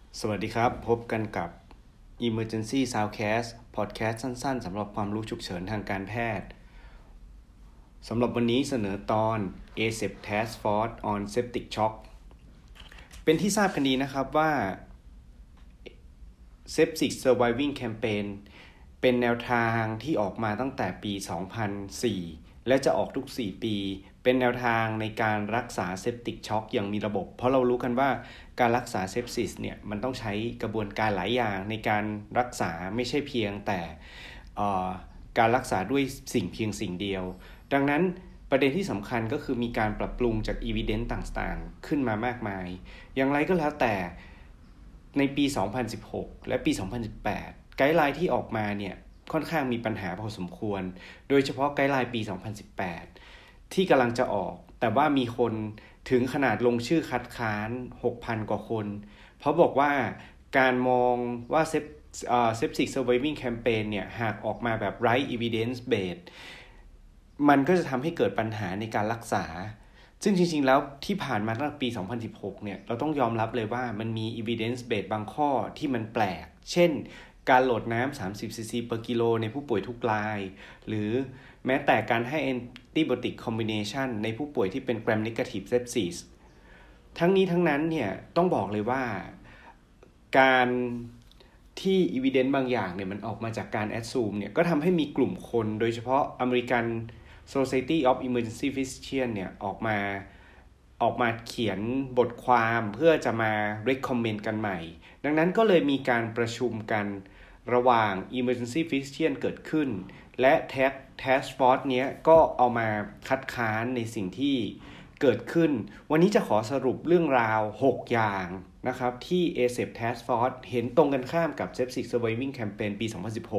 สวัสดีครับพบกันกับ Emergency Soundcast Podcast สั้นๆสำหรับความรู้ฉุกเฉินทางการแพทย์สำหรับวันนี้เสนอตอน ASAP Task Force on Septic Shock เป็นที่ทราบกันดีนะครับว่า Septic Surviving Campaign เป็นแนวทางที่ออกมาตั้งแต่ปี 2004 และจะออกทุก 4 ปี เป็นแนวทางในการรักษาเซปติกช็อกอย่างมีระบบเพราะเรารู้กันว่าการรักษาเซปซิสเนี่ยมันต้องใช้กระบวนการหลายอย่างในการรักษาไม่ใช่เพียงแต่การรักษาด้วยเพียงสิ่งเดียวดังนั้นประเด็นที่สำคัญก็คือมีการปรับปรุงจาก evidence ต่างๆขึ้นมามากมายอย่างไรก็แล้วแต่ในปี 2016 และปี 2018 ไกด์ไลน์ที่ออกมาเนี่ยค่อนข้างมีปัญหาพอสมควรโดยเฉพาะไกด์ไลน์ปี 2018 ที่กำลังจะออกแต่ว่ามีคนถึงขนาดลงชื่อคัดค้าน 6,000 กว่าคนเพราะบอกว่าการมองว่าSeptic Surviving Campaign เนี่ยหากออกมาแบบ right evidence based มันก็จะทำให้เกิดปัญหาในการรักษาซึ่งจริงๆแล้วที่ผ่านมาตั้งแต่ปี 2016 เนี่ยเราต้องยอมรับเลยว่ามันมี evidence based บางข้อที่มันแปลกเช่นการโหลดน้ำ30 cc per กิโลในผู้ป่วยทุกรายหรือแม้แต่การให้ antibiotic combination ในผู้ป่วยที่เป็น gram negative sepsis ทั้งนี้ทั้งนั้นเนี่ยต้องบอกเลยว่าการที่ evidence บางอย่างเนี่ยมันออกมาจากการ assume เนี่ยก็ทำให้มีกลุ่มคนโดยเฉพาะ American Society of Emergency Physicians เนี่ยออกมาเขียนบทความเพื่อจะมา recommend กันใหม่ดังนั้นก็เลยมีการประชุมกันระหว่าง Emergency Physician เกิดขึ้นและ Task Force เนี้ยก็เอามาคัดค้านในสิ่งที่เกิดขึ้นวันนี้จะขอสรุปเรื่องราว6อย่างนะครับที่ ASAP Task Force เห็นตรงกันข้ามกับ Septic Surviving Campaign ปี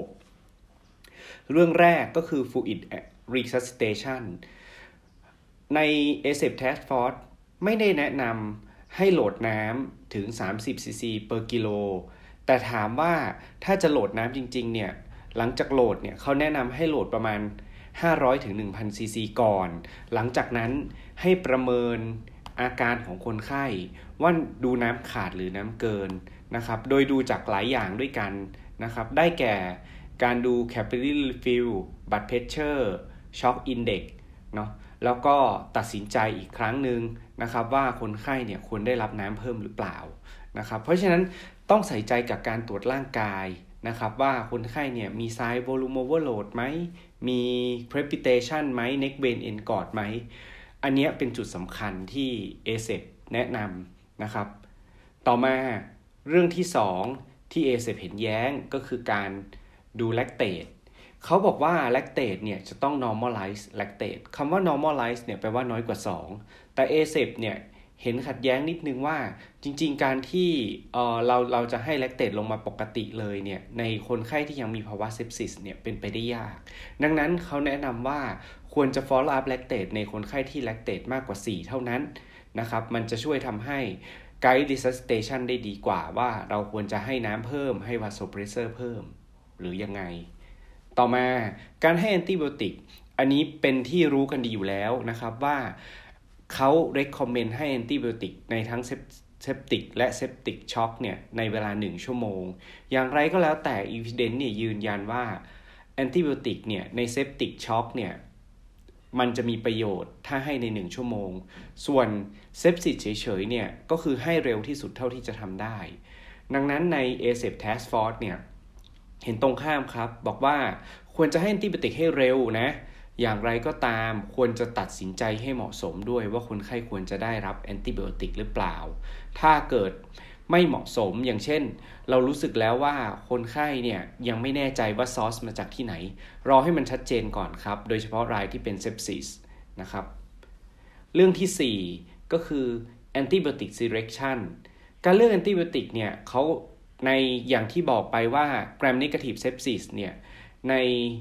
2016 เรื่องแรกก็คือ Fluid Resuscitation ใน ASAP Task Force ไม่ได้แนะนำให้โหลดน้ำถึง30 cc per กิโลแต่ถามว่าถ้าจะโหลดน้ำจริงๆเนี่ยหลังจากโหลดเนี่ยเขาแนะนำให้โหลดประมาณ500 ถึง 1,000 cc ก่อนหลังจากนั้นให้ประเมินอาการของคนไข้ว่าดูน้ำขาดหรือน้ำเกินนะครับโดยดูจากหลายอย่างด้วยกันนะครับได้แก่การดู capillary refill blood pressure shock index เนาะแล้วก็ตัดสินใจอีกครั้งหนึ่งนะครับว่าคนไข้เนี่ยควรได้รับน้ำเพิ่มหรือเปล่านะครับเพราะฉะนั้นต้องใส่ใจกับการตรวจร่างกายนะครับว่าคนไข้เนี่ยมี side volume overload ไหมมี crepitation ไหม neck vein engorge ไหมอันนี้เป็นจุดสำคัญที่ ASAP แนะนำนะครับต่อมาเรื่องที่2ที่ ASAP เห็นแย้งก็คือการดู lactate เขาบอกว่า lactate เนี่ยจะต้อง normalize lactate คำว่า normalize เนี่ยแปลว่าน้อยกว่า2แต่ ASAP เนี่ยเห็นขัดแย้งนิดนึงว่าจริงๆการที่เราจะให้ lactate ลงมาปกติเลยเนี่ยในคนไข้ที่ยังมีภาวะ sepsis เนี่ยเป็นไปได้ยากดังนั้นเขาแนะนำว่าควรจะ follow up lactate ในคนไข้ที่ lactate มากกว่า4เท่านั้นนะครับมันจะช่วยทำให้ guide resuscitation ได้ดีกว่าว่าเราควรจะให้น้ำเพิ่มให้ vasopressor เพิ่มหรือยังไงต่อมาการให้ antibiotic อันนี้เป็นที่รู้กันดีอยู่แล้วนะครับว่าเขา recommend ให้ antibiotic ในทั้ง septic และ septic shock เนี่ยในเวลา1ชั่วโมงอย่างไรก็แล้วแต่ evidence เนี่ยยืนยันว่า antibiotic เนี่ยใน septic shock เนี่ยมันจะมีประโยชน์ถ้าให้ใน1ชั่วโมงส่วน sepsis เฉยๆเนี่ยก็คือให้เร็วที่สุดเท่าที่จะทำได้ดังนั้นใน ASAP Task Force เนี่ยเห็นตรงข้ามครับบอกว่าควรจะให้ antibiotic ให้เร็วนะอย่างไรก็ตามควรจะตัดสินใจให้เหมาะสมด้วยว่าคนไข้ควรจะได้รับแอนติไบโอติกหรือเปล่าถ้าเกิดไม่เหมาะสมอย่างเช่นเรารู้สึกแล้วว่าคนไข้เนี่ยยังไม่แน่ใจว่าซอสมาจากที่ไหนรอให้มันชัดเจนก่อนครับโดยเฉพาะรายที่เป็นเซปซิสนะครับเรื่องที่4ก็คือ antibiotic selection การเลือก antibiotic เนี่ยเขาในอย่างที่บอกไปว่า gram negative sepsis เนี่ยใน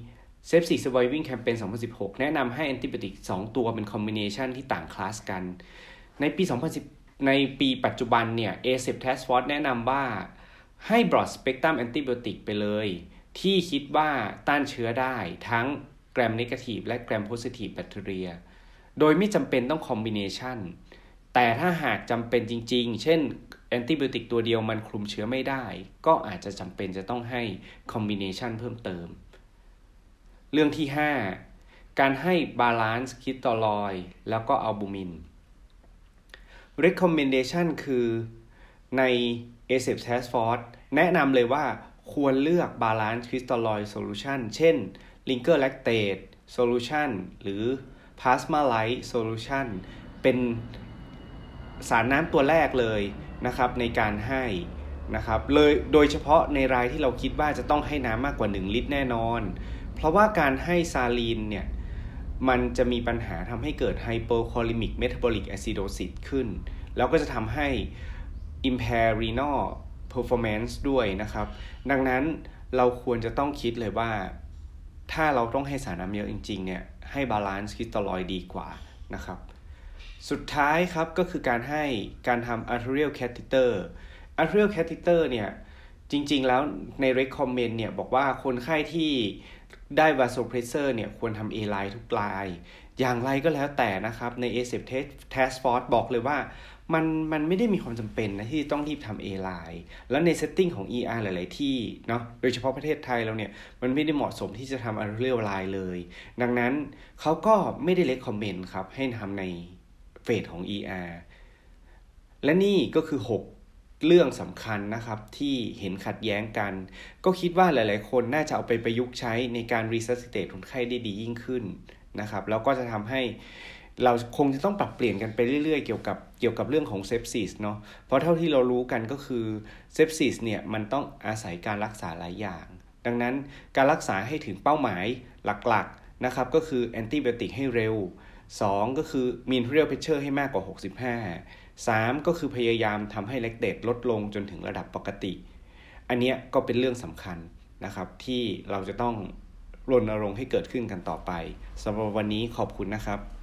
Septic Surviving Campaign 2016 แนะนำให้ antibiotic 2 ตัวเป็น combination ที่ต่างคลาสกันในปีปัจจุบันเนี่ย ASAP Task Force แนะนำว่าให้ broad spectrum antibiotic ไปเลยที่คิดว่าต้านเชื้อได้ทั้ง gram negative และ gram positive bacteria โดยไม่จำเป็นต้อง combination แต่ถ้าหากจำเป็นจริงๆเช่นแอนติไบโอติกตัวเดียวมันคลุมเชื้อไม่ได้ก็อาจจะจำเป็นจะต้องให้คอมบิเนชันเพิ่มเติมเรื่องที่5การให้บาลานซ์คิสตอลอยด์แล้วก็อัลบูมิน recommendation คือใน ASAP Task Force แนะนำเลยว่าควรเลือก Balance Crystalloid Solution เช่น Linker Lactate Solution หรือ Plasma-Lyte Solution เป็นสารน้ำตัวแรกเลยนะครับในการให้นะครับเลยโดยเฉพาะในรายที่เราคิดว่าจะต้องให้น้ำมากกว่า1ลิตรแน่นอนเพราะว่าการให้ซาลีนเนี่ยมันจะมีปัญหาทำให้เกิด Hypercholemic Metabolic Acidosis ขึ้นแล้วก็จะทำให้ impair renal performance ด้วยนะครับดังนั้นเราควรจะต้องคิดเลยว่าถ้าเราต้องให้สารน้ำเยอะจริงๆเนี่ยให้ balance crystalloid ดีกว่านะครับสุดท้ายครับก็คือการทำ arterial catheter arterial catheter เนี่ยจริงๆแล้วใน recommend เนี่ยบอกว่าคนไข้ที่ได้ vasopressor เนี่ยควรทำ A-line ทุกรายอย่างไรก็แล้วแต่นะครับใน ASAP Task Force บอกเลยว่ามันไม่ได้มีความจำเป็นนะที่ต้องรีบทำ A-line แล้วใน setting ของ ER หลายๆที่เนาะโดยเฉพาะประเทศไทยเราเนี่ยมันไม่ได้เหมาะสมที่จะทำ arterial line เลยดังนั้นเขาก็ไม่ได้ recommend ครับให้ทำในเฟสของ ER และนี่ก็คือ6เรื่องสำคัญนะครับที่เห็นขัดแย้งกันก็คิดว่าหลายๆคนน่าจะเอาไปประยุกต์ใช้ในการ resuscitate คนไข้ได้ดียิ่งขึ้นนะครับแล้วก็จะทำให้เราคงจะต้องปรับเปลี่ยนกันไปเรื่อยๆเกี่ยวกับเรื่องของเซปซิสเนาะเพราะเท่าที่เรารู้กันก็คือเซปซิสเนี่ยมันต้องอาศัยการรักษาหลายอย่างดังนั้นการรักษาให้ถึงเป้าหมายหลักๆนะครับก็คือแอนติไบโอติกให้เร็ว2ก็คือมี arterial pressure ให้มากกว่า65 3ก็คือพยายามทำให้แลคเตตลดลงจนถึงระดับปกติอันนี้ก็เป็นเรื่องสำคัญนะครับที่เราจะต้องรณรงค์ให้เกิดขึ้นกันต่อไปสำหรับวันนี้ขอบคุณนะครับ